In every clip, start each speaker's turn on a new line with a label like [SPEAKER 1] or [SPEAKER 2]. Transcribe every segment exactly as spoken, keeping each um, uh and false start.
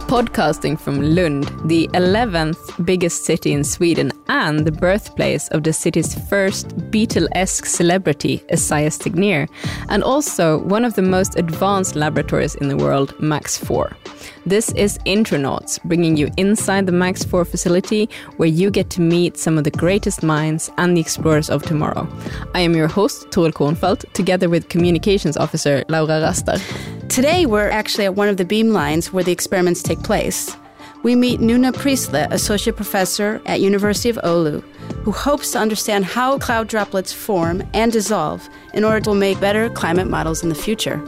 [SPEAKER 1] Podcasting from Lund, the eleventh biggest city in Sweden and the birthplace of the city's first Beatle-esque celebrity, Esaias Tegnér, and also one of the most advanced laboratories in the world, Max four. This is Intronauts, bringing you inside the Max four facility, where you get to meet some of the greatest minds and the explorers of tomorrow. I am your host, Toril Kornfeldt, together with Communications Officer Laura Rastar.
[SPEAKER 2] Today, we're actually at one of the beamlines where the experiments take place. We meet Nuna Prisle, Associate Professor at University of Oulu, who hopes to understand how cloud droplets form and dissolve in order to make better climate models in the future.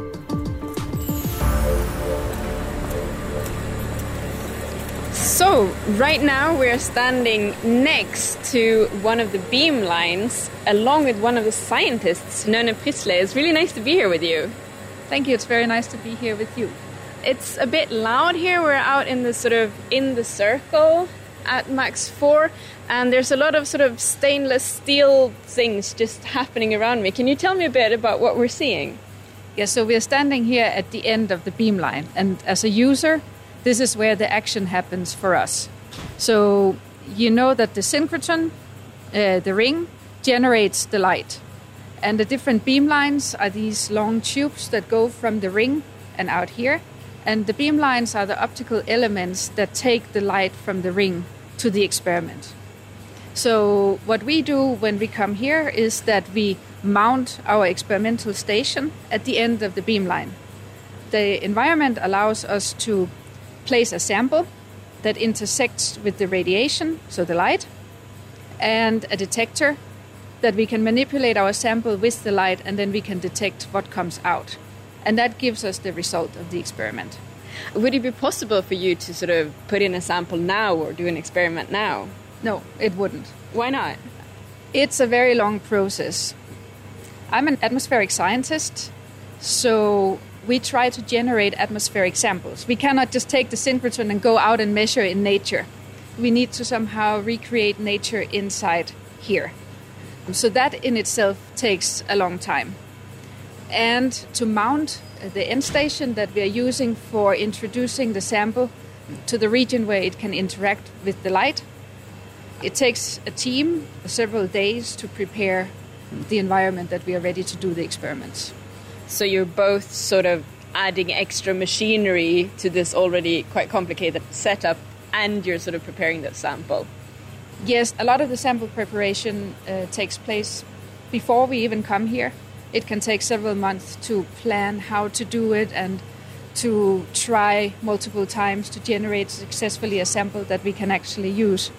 [SPEAKER 1] So, right now we're standing next to one of the beamlines, along with one of the scientists, Nuna Prisle. It's really nice to be here with you.
[SPEAKER 3] Thank you. It's very nice to be here with you.
[SPEAKER 1] It's a bit loud here. We're out in the sort of in the circle at Max four, and there's a lot of sort of stainless steel things just happening around me. Can you tell me a bit about what we're seeing?
[SPEAKER 3] Yeah, so we're standing here at the end of the beamline, and as a user, this is where the action happens for us. So you know that the synchrotron, uh, the ring, generates the light. And the different beamlines are these long tubes that go from the ring and out here. And the beamlines are the optical elements that take the light from the ring to the experiment. So what we do when we come here is that we mount our experimental station at the end of the beamline. The environment allows us to place a sample that intersects with the radiation, so the light, and a detector that we can manipulate our sample with the light, and then we can detect what comes out. And that gives us the result of the experiment.
[SPEAKER 1] Would it be possible for you to sort of put in a sample now or do an experiment now?
[SPEAKER 3] No, it wouldn't.
[SPEAKER 1] Why not?
[SPEAKER 3] It's a very long process. I'm an atmospheric scientist, so we try to generate atmospheric samples. We cannot just take the synchrotron and go out and measure in nature. We need to somehow recreate nature inside here. So that in itself takes a long time. And to mount the end station that we are using for introducing the sample to the region where it can interact with the light, it takes a team several days to prepare the environment that we are ready to do the experiments.
[SPEAKER 1] So you're both sort of adding extra machinery to this already quite complicated setup, and you're sort of preparing the sample.
[SPEAKER 3] Yes, a lot of the sample preparation uh, takes place before we even come here. It can take several months to plan how to do it and to try multiple times to generate successfully a sample that we can actually use.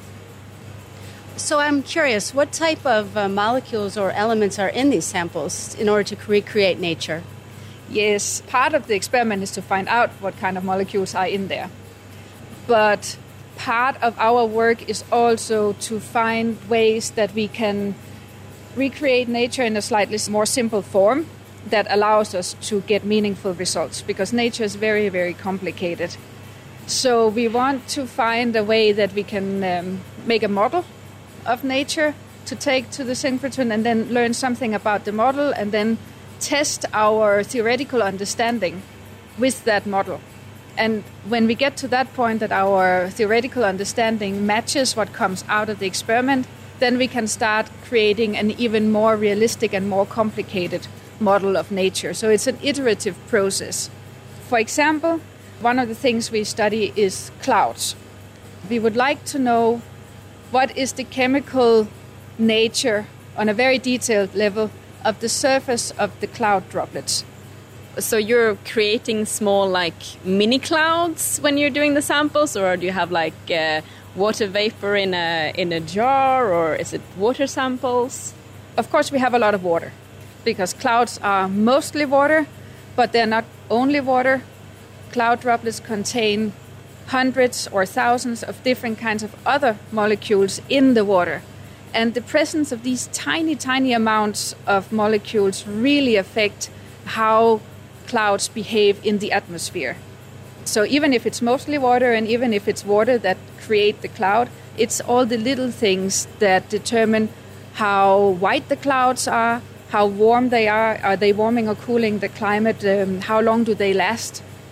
[SPEAKER 2] So I'm curious, what type of uh, molecules or elements are in these samples in order to recreate nature?
[SPEAKER 3] Yes, part of the experiment is to find out what kind of molecules are in there. But part of our work is also to find ways that we can recreate nature in a slightly more simple form that allows us to get meaningful results, because nature is very, very complicated. So we want to find a way that we can um, make a model of nature to take to the synchrotron and then learn something about the model and then test our theoretical understanding with that model. And when we get to that point that our theoretical understanding matches what comes out of the experiment, then we can start creating an even more realistic and more complicated model of nature. So it's an iterative process. For example, one of the things we study is clouds. We would like to know what is the chemical nature on a very detailed level of the surface of the cloud droplets.
[SPEAKER 1] So you're creating small, like, mini clouds when you're doing the samples, or do you have, like, uh, water vapor in a in a jar, or is it water samples?
[SPEAKER 3] Of course, we have a lot of water, because clouds are mostly water, but they're not only water. Cloud droplets contain hundreds or thousands of different kinds of other molecules in the water. And the presence of these tiny, tiny amounts of molecules really affect how clouds behave in the atmosphere. So even if it's mostly water and even if it's water that create the cloud, it's all the little things that determine how white the clouds are, how warm they are, are they warming or cooling the climate, um, how long do they last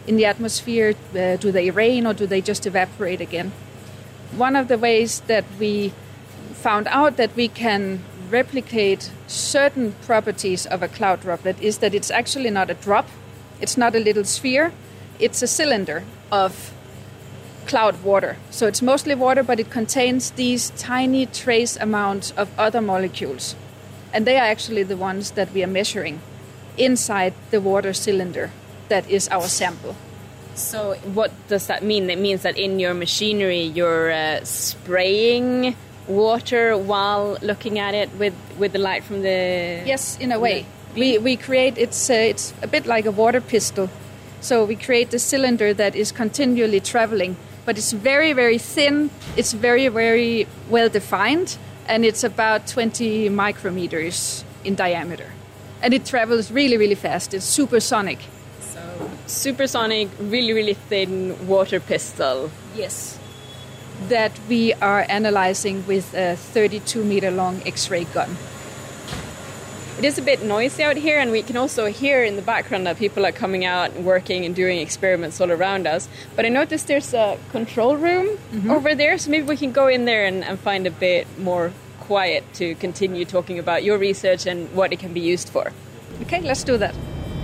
[SPEAKER 3] in the atmosphere? Uh, do they rain or do they just evaporate again? One of the ways that we found out that we can replicate certain properties of a cloud droplet is that it's actually not a drop, it's not a little sphere, it's a cylinder of cloud water. So it's mostly water, but it contains these tiny trace amounts of other molecules. And they are actually the ones that we are measuring inside the water cylinder that is our sample.
[SPEAKER 1] So what does that mean? It means that in your machinery you're uh, spraying water while looking at it with, with the light from the...
[SPEAKER 3] Yes, in a way. We we create, it's, uh, it's a bit like a water pistol. So we create the cylinder that is continually traveling, but it's very, very thin, it's very, very well defined, and it's about twenty micrometers in diameter. And it travels really, really fast. It's supersonic.
[SPEAKER 1] So supersonic, really, really thin water pistol.
[SPEAKER 3] Yes. That we are analyzing with a thirty-two meter long X-ray gun.
[SPEAKER 1] It is a bit noisy out here, and we can also hear in the background that people are coming out and working and doing experiments all around us. But I noticed there's a control room mm-hmm. over there, so maybe we can go in there and, and find a bit more quiet to continue talking about your research and what it can be used for.
[SPEAKER 3] Okay, let's do that.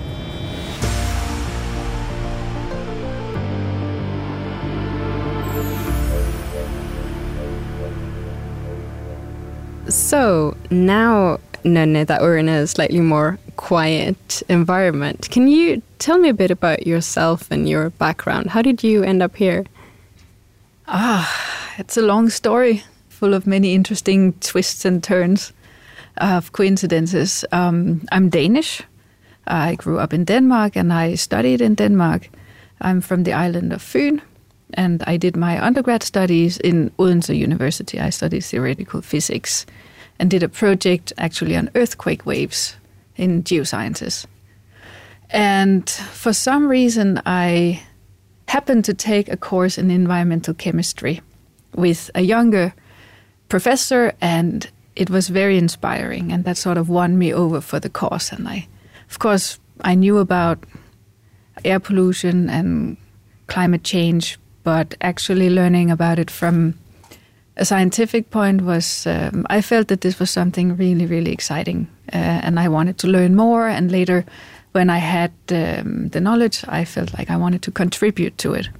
[SPEAKER 1] So now, Nonne, that we're in a slightly more quiet environment, can you tell me a bit about yourself and your background? How did you end up here?
[SPEAKER 4] Ah, it's a long story, full of many interesting twists and turns of coincidences. Um, I'm Danish. I grew up in Denmark and I studied in Denmark. I'm from the island of Fyn, and I did my undergrad studies in Odense University. I studied theoretical physics and did a project actually on earthquake waves in geosciences. And for some reason, I happened to take a course in environmental chemistry with a younger professor, and it was very inspiring, and that sort of won me over for the course. And I, of course, I knew about air pollution and climate change, but actually learning about it from a scientific point was, um, I felt that this was something really, really exciting, uh, and I wanted to learn more. And later, when I had um, the knowledge, I felt like I wanted to contribute to it.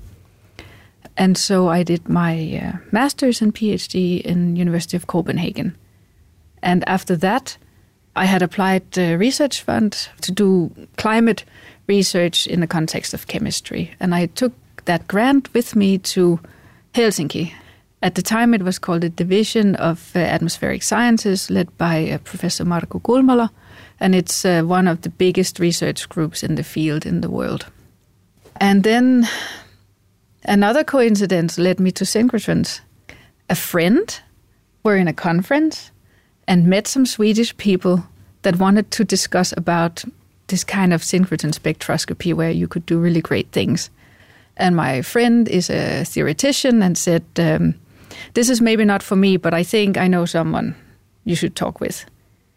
[SPEAKER 4] And so I did my uh, master's and PhD in University of Copenhagen. And after that, I had applied the research fund to do climate research in the context of chemistry. And I took that grant with me to Helsinki. At the time, it was called the Division of uh, Atmospheric Sciences, led by uh, Professor Marko Kulmala, and it's uh, one of the biggest research groups in the field in the world. And then another coincidence led me to synchrotrons. A friend were in a conference and met some Swedish people that wanted to discuss about this kind of synchrotron spectroscopy where you could do really great things. And my friend is a theoretician and said, um, this is maybe not for me, but I think I know someone you should talk with.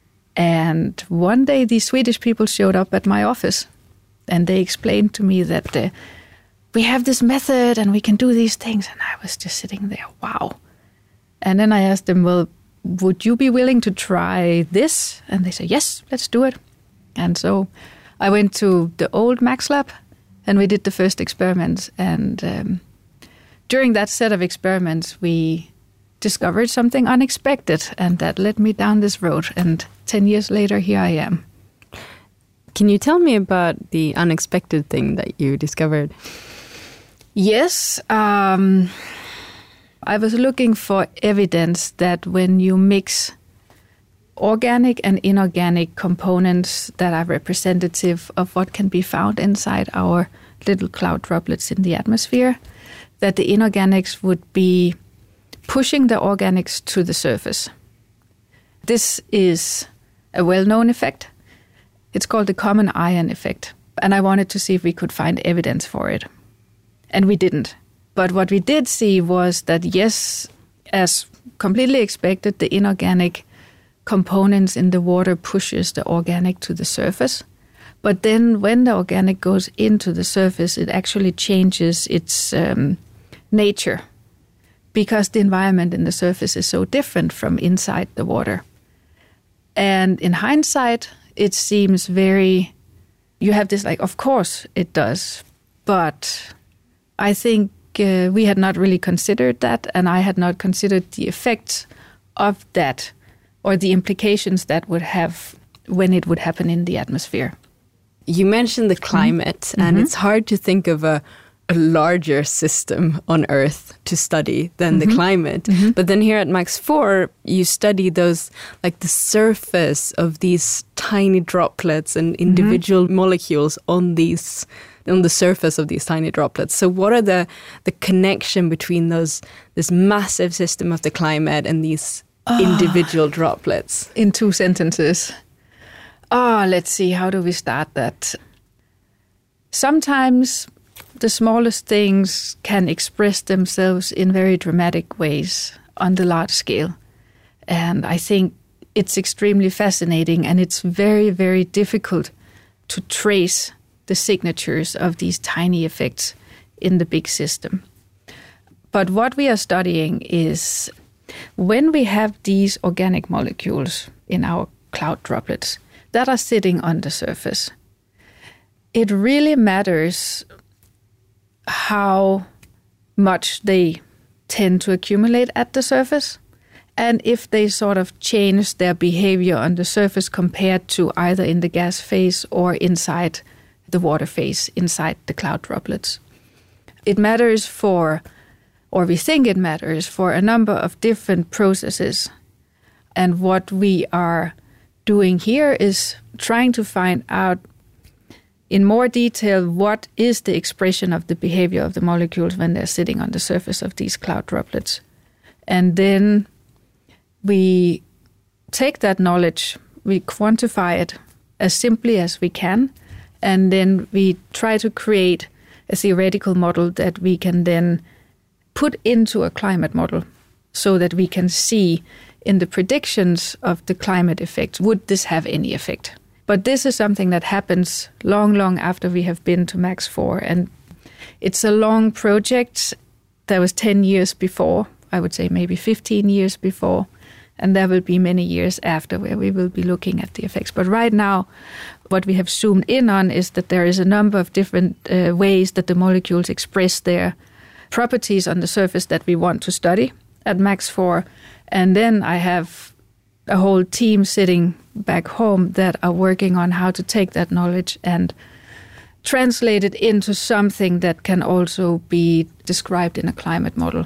[SPEAKER 4] And one day these Swedish people showed up at my office and they explained to me that uh, we have this method and we can do these things. And I was just sitting there, wow. And then I asked them, well, would you be willing to try this? And they said, yes, let's do it. And so I went to the old Max Lab and we did the first experiments. And um, during that set of experiments, we discovered something unexpected, and that led me down this road. And ten years later, here I am.
[SPEAKER 1] Can you tell me about the unexpected thing that you discovered?
[SPEAKER 4] Yes. Um, I was looking for evidence that when you mix organic and inorganic components that are representative of what can be found inside our little cloud droplets in the atmosphere, that the inorganics would be pushing the organics to the surface. This is a well-known effect. It's called the common ion effect. And I wanted to see if we could find evidence for it. And we didn't. But what we did see was that, yes, as completely expected, the inorganic components in the water pushes the organic to the surface. But then when the organic goes into the surface, it actually changes its um, nature because the environment in the surface is so different from inside the water. And in hindsight, it seems very, you have this like, of course it does. But I think uh, we had not really considered that, and I had not considered the effects of that or the implications that would have when it would happen in the atmosphere.
[SPEAKER 1] You mentioned the climate, mm-hmm. and mm-hmm. it's hard to think of a, a larger system on Earth to study than mm-hmm. the climate. Mm-hmm. But then here at Max four, you study those, like the surface of these tiny droplets and individual mm-hmm. molecules on these, on the surface of these tiny droplets. So what are the, the connection between those, this massive system of the climate and these oh. individual droplets?
[SPEAKER 4] In two sentences. Oh, let's see, how do we start that? Sometimes the smallest things can express themselves in very dramatic ways on the large scale. And I think it's extremely fascinating, and it's very, very difficult to trace the signatures of these tiny effects in the big system. But what we are studying is when we have these organic molecules in our cloud droplets that are sitting on the surface, it really matters how much they tend to accumulate at the surface and if they sort of change their behavior on the surface compared to either in the gas phase or inside the water phase, inside the cloud droplets. It matters for, or we think it matters, for a number of different processes. And what we are doing here is trying to find out in more detail what is the expression of the behavior of the molecules when they're sitting on the surface of these cloud droplets. And then we take that knowledge, we quantify it as simply as we can, and then we try to create a theoretical model that we can then put into a climate model so that we can see in the predictions of the climate effect, would this have any effect? But this is something that happens long, long after we have been to Max four. And it's a long project. That was ten years before, I would say maybe fifteen years before. And there will be many years after where we will be looking at the effects. But right now, what we have zoomed in on is that there is a number of different uh, ways that the molecules express their properties on the surface that we want to study at Max four. And then I have a whole team sitting back home that are working on how to take that knowledge and translate it into something that can also be described in a climate model.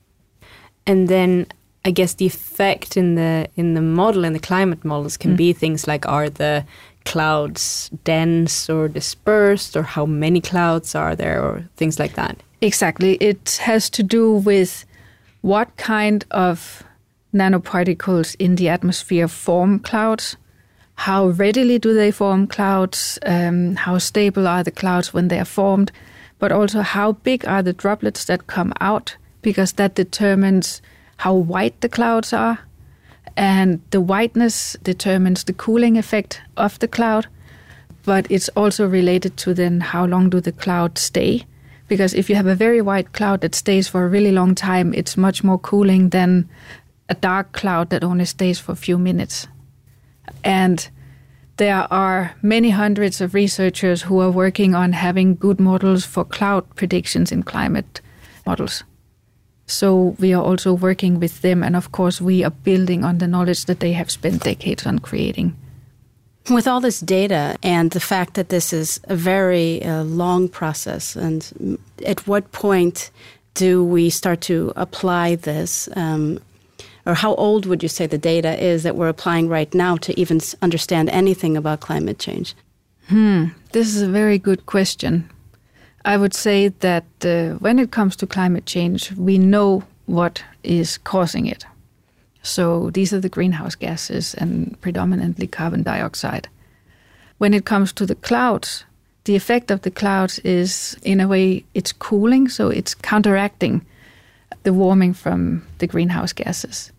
[SPEAKER 1] And then I guess the effect in the in the model, in the climate models, can mm. be things like, are the clouds dense or dispersed, or how many clouds are there, or things like that?
[SPEAKER 4] Exactly. It has to do with what kind of nanoparticles in the atmosphere form clouds, how readily do they form clouds, um, how stable are the clouds when they are formed, but also how big are the droplets that come out, because that determines how white the clouds are, and the whiteness determines the cooling effect of the cloud, but it's also related to then how long do the clouds stay, because if you have a very white cloud that stays for a really long time, it's much more cooling than a dark cloud that only stays for a few minutes. And there are many hundreds of researchers who are working on having good models for cloud predictions in climate models. So we are also working with them, and of course we are building on the knowledge that they have spent decades on creating.
[SPEAKER 2] With all this data and the fact that this is a very uh, long process, and at what point do we start to apply this? Um, or how old would you say the data is that we're applying right now to even understand anything about climate change?
[SPEAKER 4] Hmm, this is a very good question. I would say that uh, when it comes to climate change, we know what is causing it. So these are the greenhouse gases and predominantly carbon dioxide. When it comes to the clouds, the effect of the clouds is, in a way, it's cooling, so it's counteracting the warming from the greenhouse gases.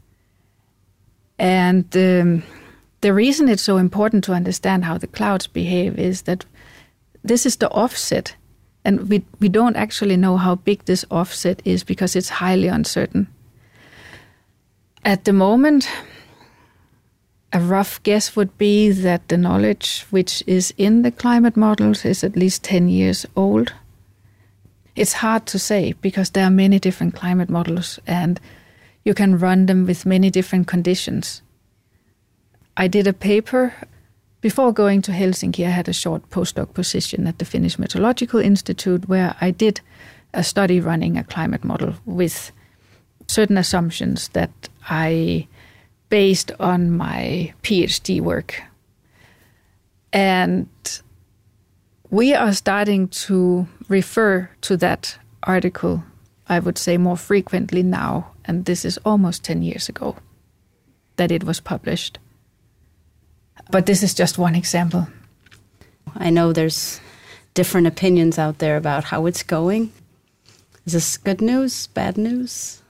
[SPEAKER 4] And um, the reason it's so important to understand how the clouds behave is that this is the offset. And we, we don't actually know how big this offset is because it's highly uncertain. At the moment, a rough guess would be that the knowledge which is in the climate models is at least ten years old. It's hard to say because there are many different climate models and you can run them with many different conditions. I did a paper before going to Helsinki. I had a short postdoc position at the Finnish Meteorological Institute where I did a study running a climate model with certain assumptions that I based on my PhD work. And we are starting to refer to that article, I would say, more frequently now. And this is almost ten years ago that it was published. But this is just one example.
[SPEAKER 2] I know there's different opinions out there about how it's going. Is this good news, bad news?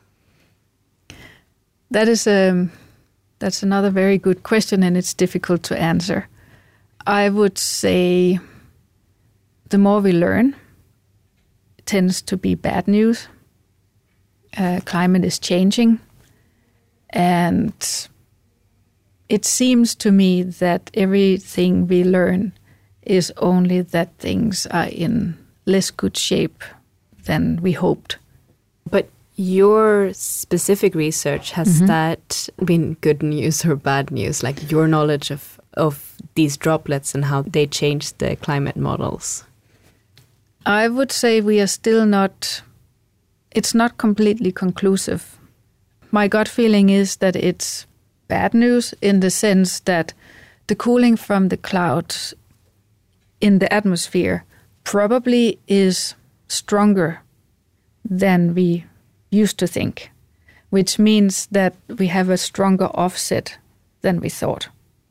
[SPEAKER 4] That is a, that's another very good question, and it's difficult to answer. I would say the more we learn, it tends to be bad news. Uh, climate is changing, and it seems to me that everything we learn is only that things are in less good shape than we hoped.
[SPEAKER 1] But your specific research, has mm-hmm. that been good news or bad news? Like your knowledge of, of these droplets and how they change the climate models?
[SPEAKER 4] I would say we are still not, it's not completely conclusive. My gut feeling is that it's bad news in the sense that the cooling from the clouds in the atmosphere probably is stronger than we used to think, which means that we have a stronger offset than we thought.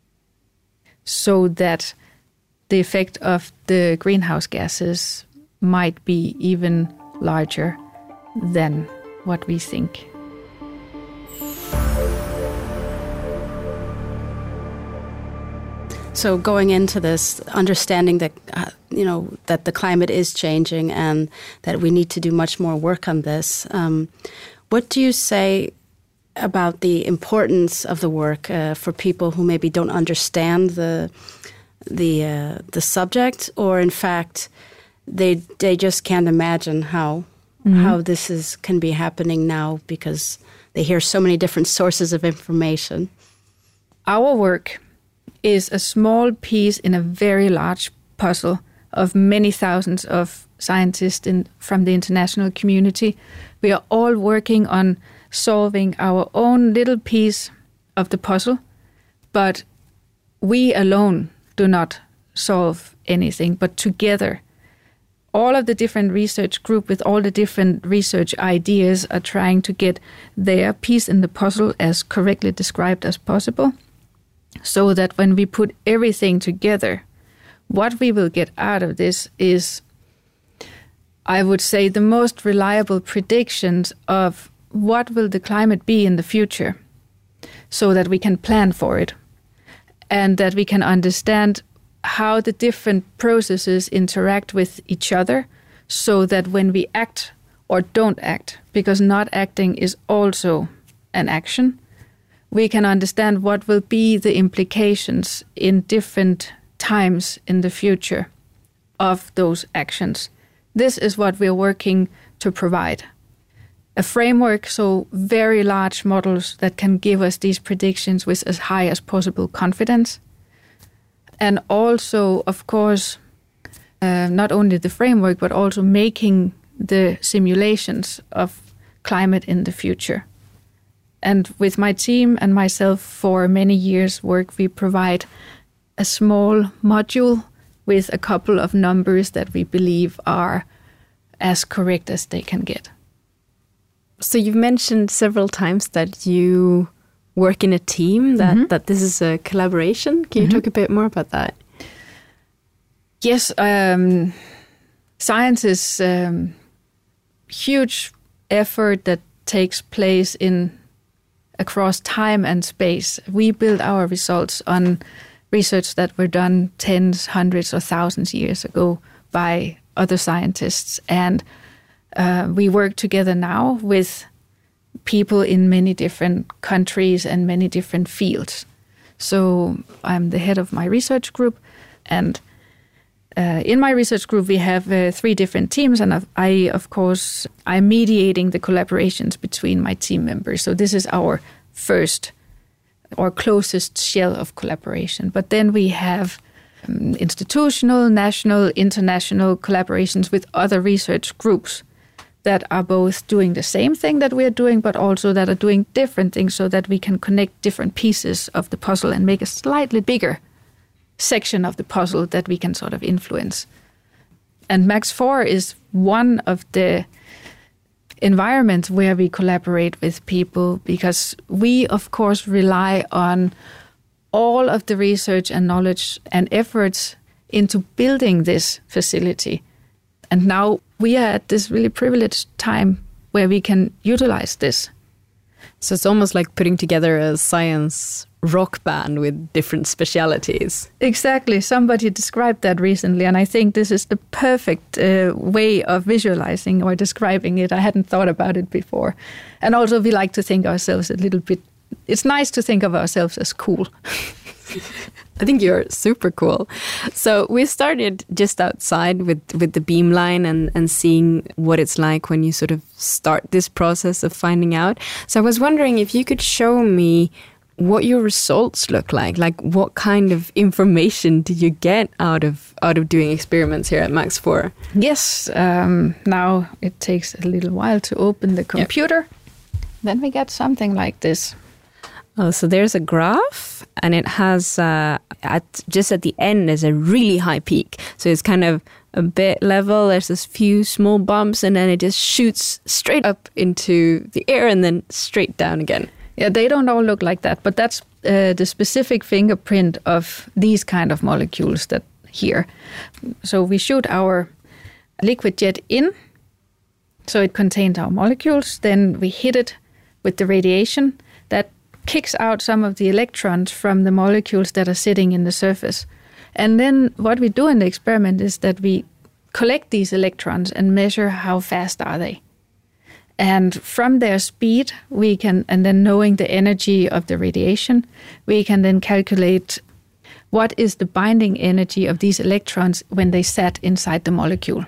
[SPEAKER 4] So that the effect of the greenhouse gases might be even larger than what we think.
[SPEAKER 2] So going into this, understanding that, uh, you know, that the climate is changing and that we need to do much more work on this, um, what do you say about the importance of the work uh, for people who maybe don't understand the the uh, the subject, or in fact they they just can't imagine how mm-hmm. how this is can be happening now because they hear so many different sources of information?
[SPEAKER 4] Our work is a small piece in a very large puzzle of many thousands of scientists in, from the international community. We are all working on solving our own little piece of the puzzle, but we alone do not solve anything, but together, all of the different research group with all the different research ideas are trying to get their piece in the puzzle as correctly described as possible, so that when we put everything together, what we will get out of this is, I would say, the most reliable predictions of what will the climate be in the future, so that we can plan for it and that we can understand how the different processes interact with each other, so that when we act or don't act, because not acting is also an action, we can understand what will be the implications in different times in the future of those actions. This is what we're working to provide. A framework, so very large models that can give us these predictions with as high as possible confidence. And also, of course, uh, not only the framework, but also making the simulations of climate in the future. And with my team and myself for many years' work, we provide a small module with a couple of numbers that we believe are as correct as they can get.
[SPEAKER 1] So you've mentioned several times that you work in a team, that, mm-hmm. that this is a collaboration. Can you mm-hmm. talk a bit more about that?
[SPEAKER 4] Yes, um, science is a um, huge effort that takes place in across time and space. We build our results on research that were done tens, hundreds, or thousands of years ago by other scientists. And uh, we work together now with people in many different countries and many different fields. So I'm the head of my research group, and uh, in my research group we have uh, three different teams, and I, of course, I'm mediating the collaborations between my team members. So this is our first or closest shell of collaboration. But then we have um, institutional, national, international collaborations with other research groups that are both doing the same thing that we are doing, but also that are doing different things, so that we can connect different pieces of the puzzle and make a slightly bigger section of the puzzle that we can sort of influence. And Max four is one of the environments where we collaborate with people, because we, of course, rely on all of the research and knowledge and efforts into building this facility. And now we are at this really privileged time where we can utilize this.
[SPEAKER 1] So it's almost like putting together a science rock band with different specialities.
[SPEAKER 4] Exactly. Somebody described that recently, and I think this is the perfect uh, way of visualizing or describing it. I hadn't thought about it before. And also we like to think ourselves a little bit, it's nice to think of ourselves as cool.
[SPEAKER 1] I think you're super cool. So we started just outside with, with the beamline and, and seeing what it's like when you sort of start this process of finding out. So I was wondering if you could show me what your results look like. Like, what kind of information do you get out of out of doing experiments here at Max four?
[SPEAKER 4] Yes. Um, now it takes a little while to open the computer. Yep. Then we get something like this.
[SPEAKER 1] Oh, so there's a graph, and it has, uh, at just at the end, there's a really high peak. So it's kind of a bit level, there's this few small bumps, and then it just shoots straight up into the air and then straight down again.
[SPEAKER 4] Yeah, they don't all look like that, but that's uh, the specific fingerprint of these kind of molecules that here. So we shoot our liquid jet in, so it contains our molecules, then we hit it with the radiation that kicks out some of the electrons from the molecules that are sitting in the surface. And then what we do in the experiment is that we collect these electrons and measure how fast are they. And from their speed, we can, and then knowing the energy of the radiation, we can then calculate what is the binding energy of these electrons when they sat inside the molecule.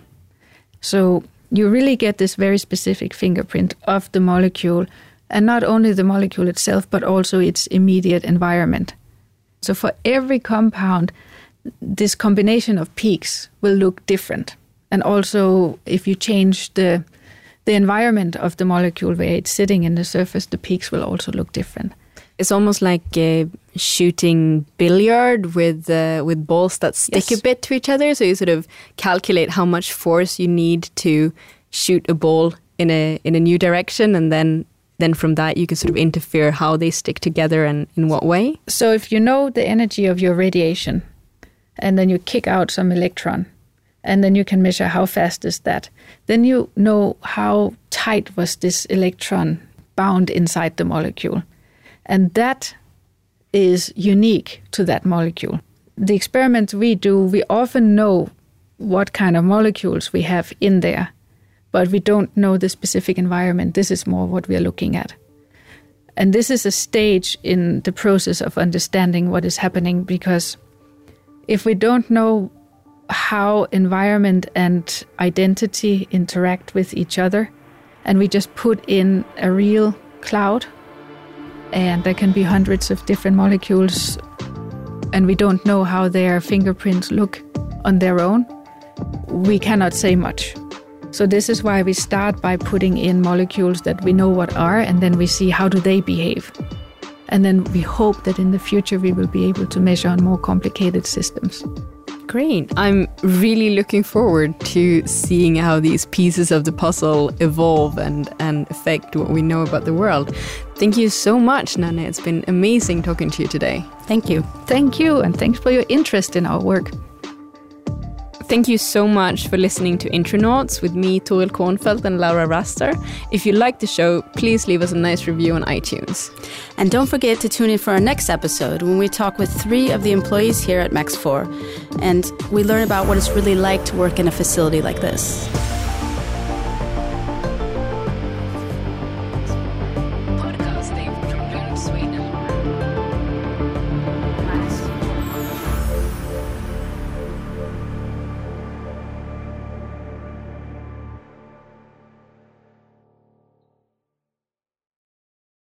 [SPEAKER 4] So you really get this very specific fingerprint of the molecule, and not only the molecule itself, but also its immediate environment. So for every compound, this combination of peaks will look different. And also, if you change the the environment of the molecule where it's sitting in the surface, the peaks will also look different.
[SPEAKER 1] It's almost like uh, shooting billiard with uh, with balls that stick yes. a bit to each other. So you sort of calculate how much force you need to shoot a ball in a in a new direction, and then then from that you can sort of interfere how they stick together and in what way.
[SPEAKER 4] So if you know the energy of your radiation, and then you kick out some electron, and then you can measure how fast is that, then you know how tight was this electron bound inside the molecule. And that is unique to that molecule. The experiments we do, we often know what kind of molecules we have in there, but we don't know the specific environment. This is more what we are looking at. And this is a stage in the process of understanding what is happening, because if we don't know how environment and identity interact with each other, and we just put in a real cloud, and there can be hundreds of different molecules, and we don't know how their fingerprints look on their own, we cannot say much. So this is why we start by putting in molecules that we know what are, and then we see how do they behave. And then we hope that in the future we will be able to measure on more complicated systems.
[SPEAKER 1] Great. I'm really looking forward to seeing how these pieces of the puzzle evolve and, and affect what we know about the world. Thank you so much, Nanne. It's been amazing talking to you today.
[SPEAKER 2] Thank you.
[SPEAKER 4] Thank you, and thanks for your interest in our work.
[SPEAKER 1] Thank you so much for listening to Intronauts with me, Toril Kornfeldt and Laura Raster. If you like the show, please leave us a nice review on iTunes.
[SPEAKER 2] And don't forget to tune in for our next episode when we talk with three of the employees here at Max four. And we learn about what it's really like to work in a facility like this.